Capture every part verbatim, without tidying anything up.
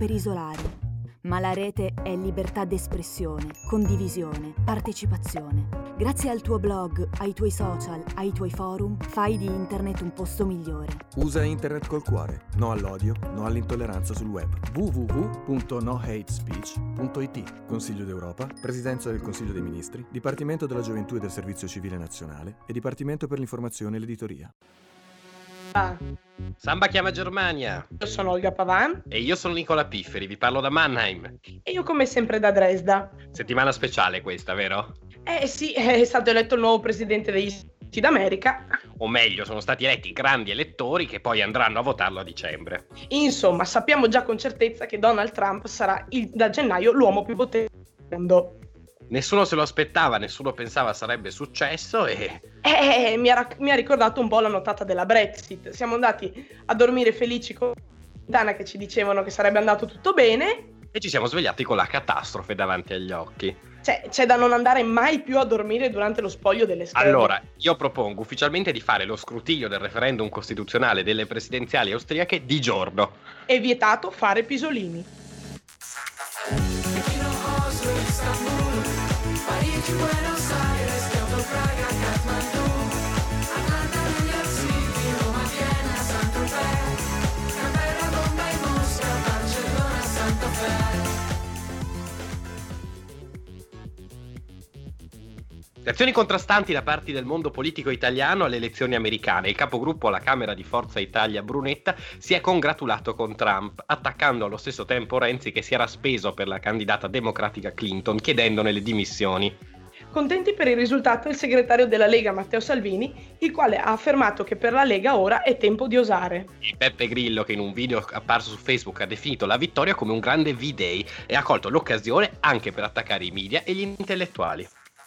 per isolare. Ma la rete è libertà d'espressione, condivisione, partecipazione. Grazie al tuo blog, ai tuoi social, ai tuoi forum, fai di internet un posto migliore. Usa internet col cuore. No all'odio, no all'intolleranza sul web. w w w punto no hate speech punto i t. Consiglio d'Europa, Presidenza del Consiglio dei Ministri, Dipartimento della Gioventù e del Servizio Civile Nazionale e Dipartimento per l'Informazione e l'Editoria. Ah, Samba chiama Germania. io sono Olga Pavan E io sono Nicola Pifferi, vi parlo da Mannheim. e io come sempre da Dresda. Settimana speciale questa, vero? Eh sì, è stato eletto il nuovo presidente degli Stati Uniti d'America. O meglio, sono stati eletti grandi elettori che poi andranno a votarlo a dicembre. Insomma, sappiamo già con certezza che Donald Trump sarà il, da gennaio l'uomo più potente del mondo. Nessuno se lo aspettava, nessuno pensava sarebbe successo e... Eh, mi ha, mi ha ricordato un po' la nottata della Brexit. Siamo andati a dormire felici con Dana che ci dicevano che sarebbe andato tutto bene. e ci siamo svegliati con la catastrofe davanti agli occhi. Cioè, c'è da non andare mai più a dormire durante lo spoglio delle schede. Allora, io propongo ufficialmente di fare lo scrutinio del referendum costituzionale delle presidenziali austriache di giorno. È vietato fare pisolini. Parigi, Buenos Aires, Kyoto, Praga, Kathmandu, Atlanta, New York City, Roma, Vienna, Saint-Tropez, Canberra, Bombay, Mosca, Barcellona, Santa Fe. Reazioni contrastanti da parte del mondo politico italiano alle elezioni americane. Il capogruppo alla Camera di Forza Italia Brunetta si è congratulato con Trump, attaccando allo stesso tempo Renzi che si era speso per la candidata democratica Clinton, chiedendone le dimissioni. Contenti per il risultato il segretario della Lega Matteo Salvini, il quale ha affermato che per la Lega ora è tempo di osare. E Beppe Grillo, che in un video apparso su Facebook ha definito la vittoria come un grande V-Day e ha colto l'occasione anche per attaccare i media e gli intellettuali.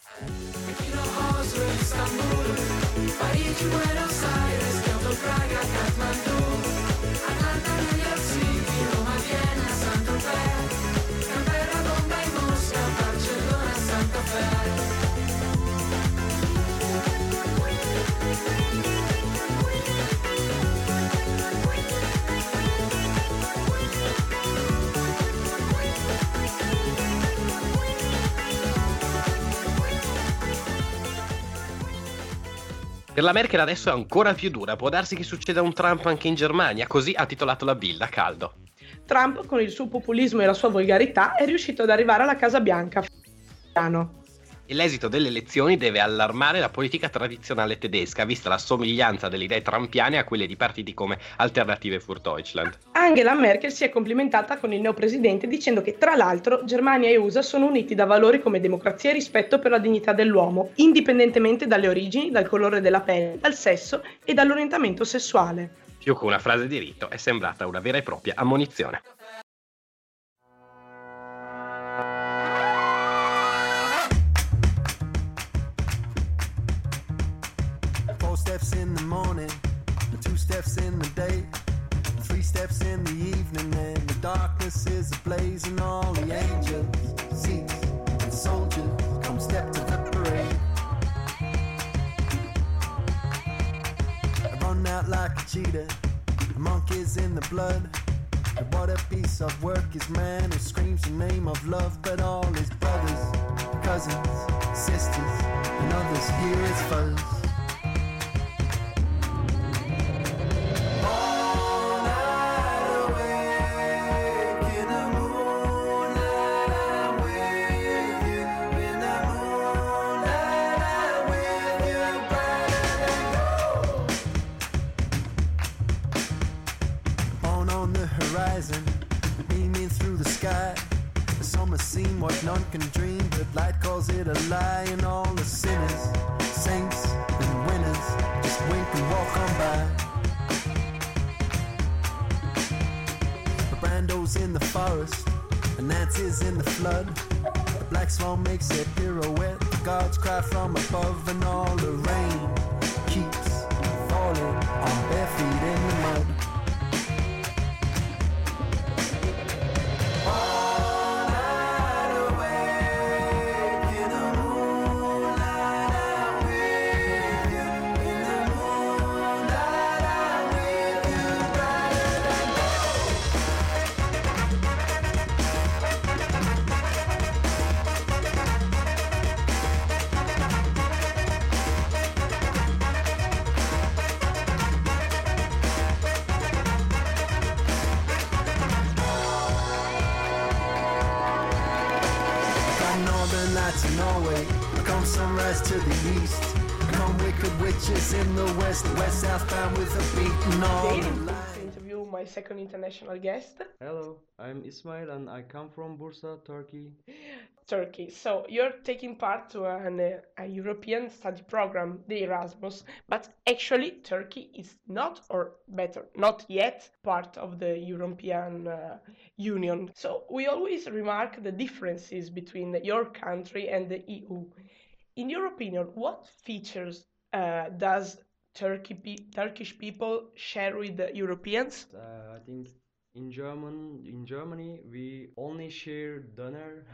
Parigi, Buenos Aires, Kyoto, Praga, Kathmandu, Atlanta, New York City, Roma, Vienna, Saint-Tropez, Canberra, Bombay, Mosca, Barcellona, Santa Fe. Per la Merkel adesso è ancora più dura, può darsi che succeda un Trump anche in Germania, così ha titolato la Bild a caldo. Trump, con il suo populismo e la sua volgarità, è riuscito ad arrivare alla Casa Bianca. E l'esito delle elezioni deve allarmare la politica tradizionale tedesca, vista la somiglianza delle idee trumpiane a quelle di partiti come Alternative für Deutschland. Angela Merkel si è complimentata con il neopresidente dicendo che, tra l'altro, Germania e U S A sono uniti da valori come democrazia e rispetto per la dignità dell'uomo, indipendentemente dalle origini, dal colore della pelle, dal sesso e dall'orientamento sessuale. Più che una frase di rito, è sembrata una vera e propria ammonizione. Four steps in the morning, two steps in the day, three steps in the evening, and the darkness is ablaze, and all the angels, seats, and soldiers come step to the parade. I run out like a cheetah, the monkeys in the blood. And what a piece of work is man who screams the name of love, but all his brothers, cousins, sisters, and others hear his fuzz. Beaming through the sky, the summer scene what none can dream, but light calls it a lie, and all the sinners, saints and winners just wink and walk on by. The Brando's in the forest, and Nancy's in the flood. The black swan makes a pirouette, the gods cry from above, and all the rain keeps falling on bare feet in the mud. night to Norway. Come sunrise to the east. Come wicked witches in the west. West southbound with a beating all Today, the I'm light. going to interview my second international guest, Hello, I'm Ismail and I come from Bursa, Turkey. Turkey. So you're taking part to an, uh, a European study program, the Erasmus, but actually Turkey is not, or better, not yet part of the European uh, Union. So we always remark the differences between your country and the E U. In your opinion, what features uh, does Turkey pe- Turkish people share with the Europeans? Uh, I think in German, in Germany, we only share dinner,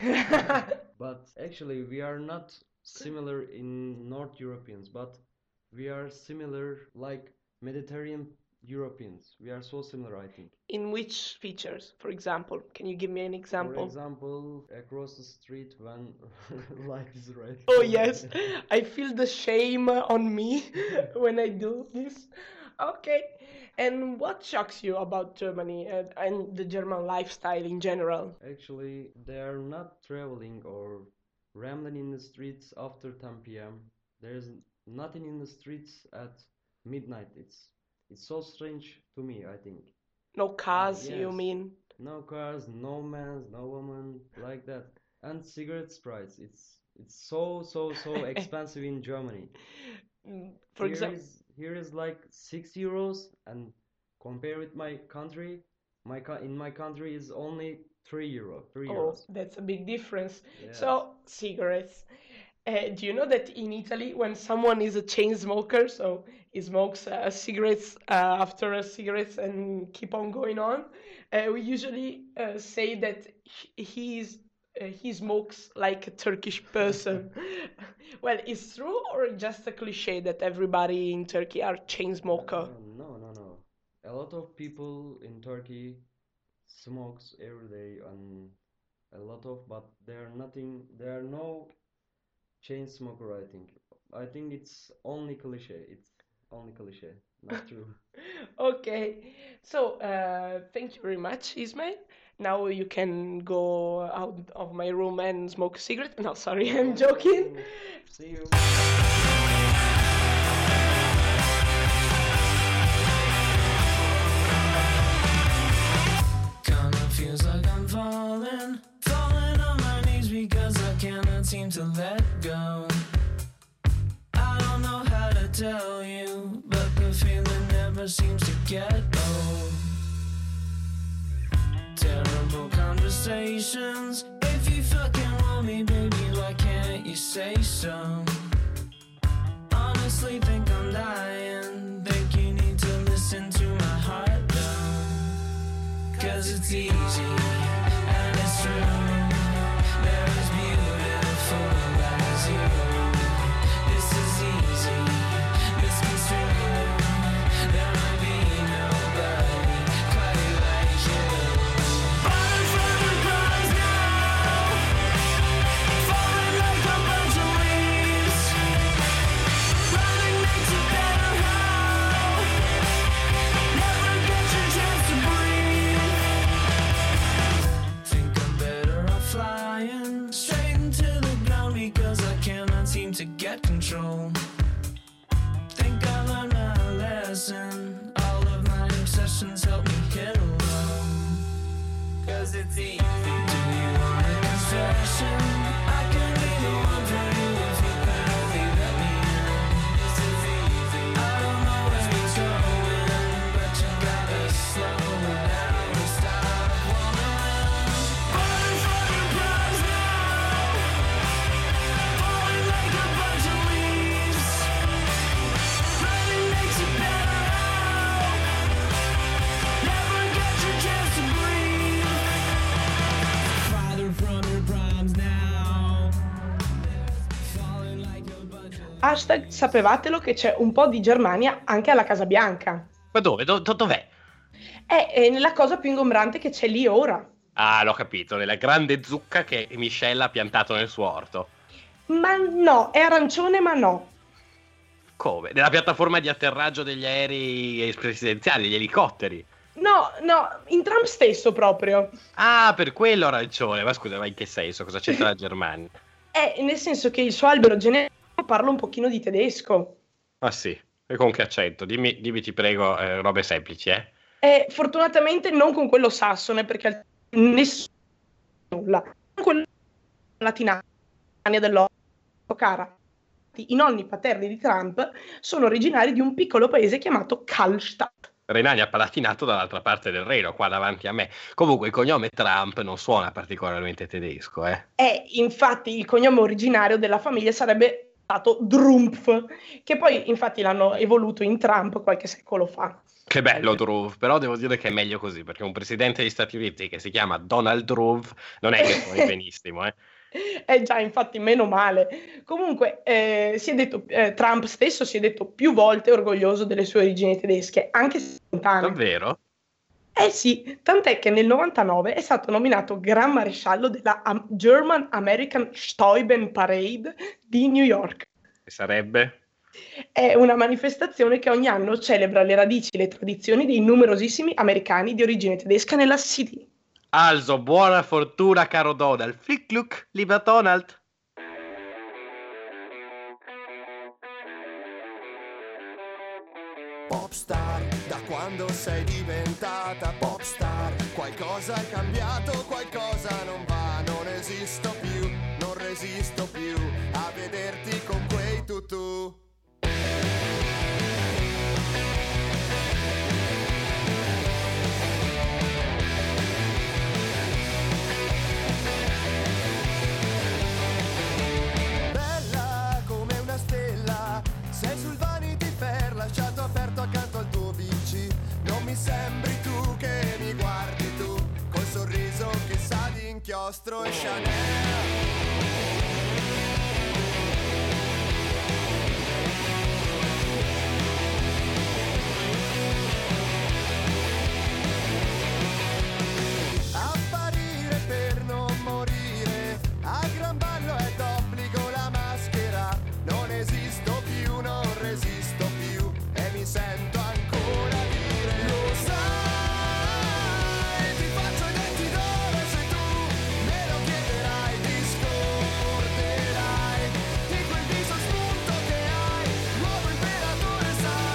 but actually we are not similar in North Europeans, but we are similar like Mediterranean Europeans. We are so similar, I think. In which features, for example? Can you give me an For example? example, across the street when light is red. Oh yes, I feel the shame on me when I do this. Okay, and what shocks you about Germany and, and the German lifestyle in general? Actually, they are not traveling or rambling in the streets after ten p m. There's nothing in the streets at midnight. It's it's so strange to me, I think. No cars, you Yes. mean? No cars, no man, no woman, like that. And cigarette price. It's it's so so so expensive in Germany. Mm, For Here example, is here is like six euros, and compare with my country, my co- in my country is only three euro, three oh, euros. that's a big difference. Yes. So, cigarettes. Uh, do you know that in Italy, when someone is a chain smoker, so he smokes uh, cigarettes uh, after a cigarettes and keep on going on, uh, we usually uh, say that he he is uh, he smokes like a Turkish person. Well, it's true or just a cliche that everybody in Turkey are chain smoker? Uh, no, no, no. A lot of people in Turkey smokes every day, and a lot of, but there are nothing, there are no chain smoker, I think. I think it's only cliche. It's only cliche, not true. Okay, so uh, thank you very much, Ismail. Now you can go out of my room and smoke a cigarette. No, sorry, I'm joking. See you. Kinda feels like I'm falling, falling on my knees because I cannot seem to let go. I don't know how to tell you, but the feeling never seems to get old. Terrible conversations. If you fucking want me, baby, why can't you say so? Honestly, think I'm dying. Think you need to listen to my heart, though. Cause it's easy, and it's true. They're as beautiful as you. This is easy, misconstrued. There might be nobody quite like you. Running from the clouds now, falling like a bunch of leaves. Running makes it better how. Never get your chance to breathe. Think I'm better off flying straight into the ground because I cannot seem to get control. Think I learned my lesson. All of my obsessions help me hit a low. Cause it's easy. Do you want a confession? I can be the one for you if you can only let me in. This is easy. I don't know where it's going, but you gotta slow down and stop wandering. Running from your prize now, falling like a bunch of leaves. Running makes it better how. Never get your chance to breathe. Farther from your primes now, falling like a bunch of Hashtag sapevatelo che c'è un po' di Germania anche alla Casa Bianca. Ma dove? Do- do- dov'è? È, è nella cosa più ingombrante che c'è lì ora. Ah, l'ho capito, nella grande zucca che Michelle ha piantato nel suo orto. Ma no, è arancione ma no. Come? Nella piattaforma di atterraggio degli aerei presidenziali, degli elicotteri. No, no, in Trump stesso proprio. Ah, per quello ha ragione. Ma scusa, ma in che senso? Cosa c'entra la Germania? È nel senso che il suo albero genealogico parla un pochino di tedesco. Ah sì, e con che accento? Dimmi, dimmi ti prego, eh, robe semplici, eh? E fortunatamente non con quello sassone, perché nessuno nulla. Con quello latinano dell'Ottocento, cara. I nonni paterni di Trump sono originari di un piccolo paese chiamato Kallstadt. Renania Palatinato dall'altra parte del Reno, qua davanti a me. Comunque il cognome Trump non suona particolarmente tedesco, eh? E infatti il cognome originario della famiglia sarebbe stato Drumpf, che poi infatti l'hanno evoluto in Trump qualche secolo fa. Che bello Trump, però devo dire che è meglio così, perché un presidente degli Stati Uniti che si chiama Donald Trump non è che suoni benissimo, eh? Eh già, infatti, meno male. Comunque, eh, si è detto, eh, Trump stesso si è detto più volte orgoglioso delle sue origini tedesche, anche se lontane. Davvero? Eh sì, tant'è che nel novantanove è stato nominato Gran Maresciallo della Am- German American Steuben Parade di New York. E sarebbe? È una manifestazione che ogni anno celebra le radici e le tradizioni dei numerosissimi americani di origine tedesca nella City. Also, buona fortuna caro Donald. Flick Luck, lieber Donald. Popstar, da quando sei diventata popstar, qualcosa è cambiato, qualcosa non va, non esisto più, non resisto più a vederti con quei tutù. Bella come una stella, sei sul Vanity Fair, lasciato aperto accanto al tuo V C. Non mi sembri tu che mi guardi tu, col sorriso che sa di inchiostro e Chanel. Apparire per non morire, a gran ballo è d'obbligo la maschera. Non esisto più, non resisto più e mi sento ancora dire: lo sai, ti faccio i denti d'oro se tu me lo chiederai, ti scorderai di quel viso spunto che hai, nuovo imperatore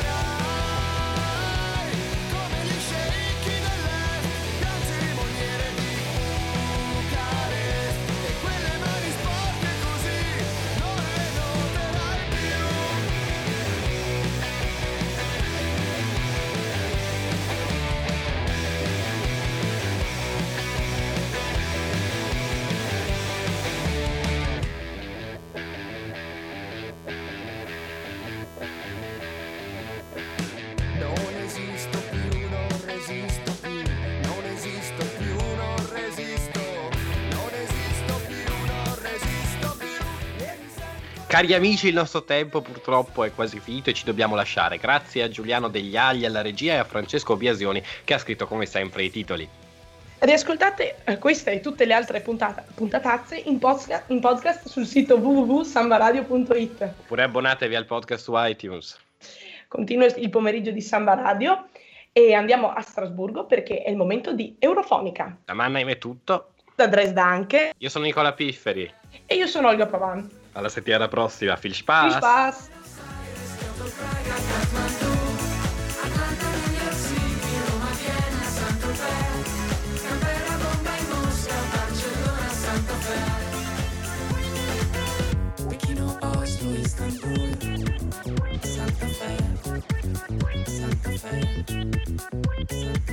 sarai, come gli sceicchi dell'est, gran cerimoniere di Bucarest, e quelle mani sporche così non le noterai più. Non esisto più, non resisto più, non esisto più, non resisto, non esisto più, non resisto più e mi sento... Cari amici, il nostro tempo purtroppo è quasi finito e ci dobbiamo lasciare. Grazie a Giuliano Degli Agli alla regia e a Francesco Biasioni che ha scritto come sempre i titoli. Riascoltate eh, questa e tutte le altre puntata- puntatazze in podcast, in podcast sul sito w w w punto sambaradio punto i t. Oppure abbonatevi al podcast su iTunes. Continua il pomeriggio di Samba Radio e andiamo a Strasburgo perché è il momento di Eurofonica. Da Mannheim è tutto. Da Dresda anche. Io sono Nicola Pifferi. E io sono Olga Pavan. Alla settimana prossima. Viel Spaß. Viel Spaß. Atlanta, New York City, Roma, Vienna, Saint-Tropez, Canberra, Bombay, Mosca, Barcellona, Santa Fe, Pechino, Oslo, Istanbul, Santa Fe, Santa Fe, Santa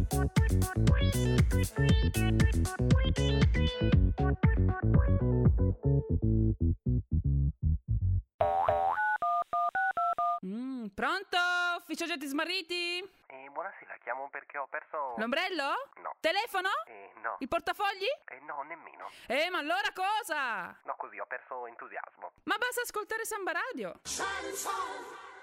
Mm, pronto? Ufficio oggetti smarriti? Eh, buonasera, chiamo perché ho perso... L'ombrello? No. Telefono? Eh, no. Il portafogli? Eh, no, nemmeno. Eh, ma allora cosa? No, così ho perso entusiasmo. Ma basta ascoltare Samba Radio.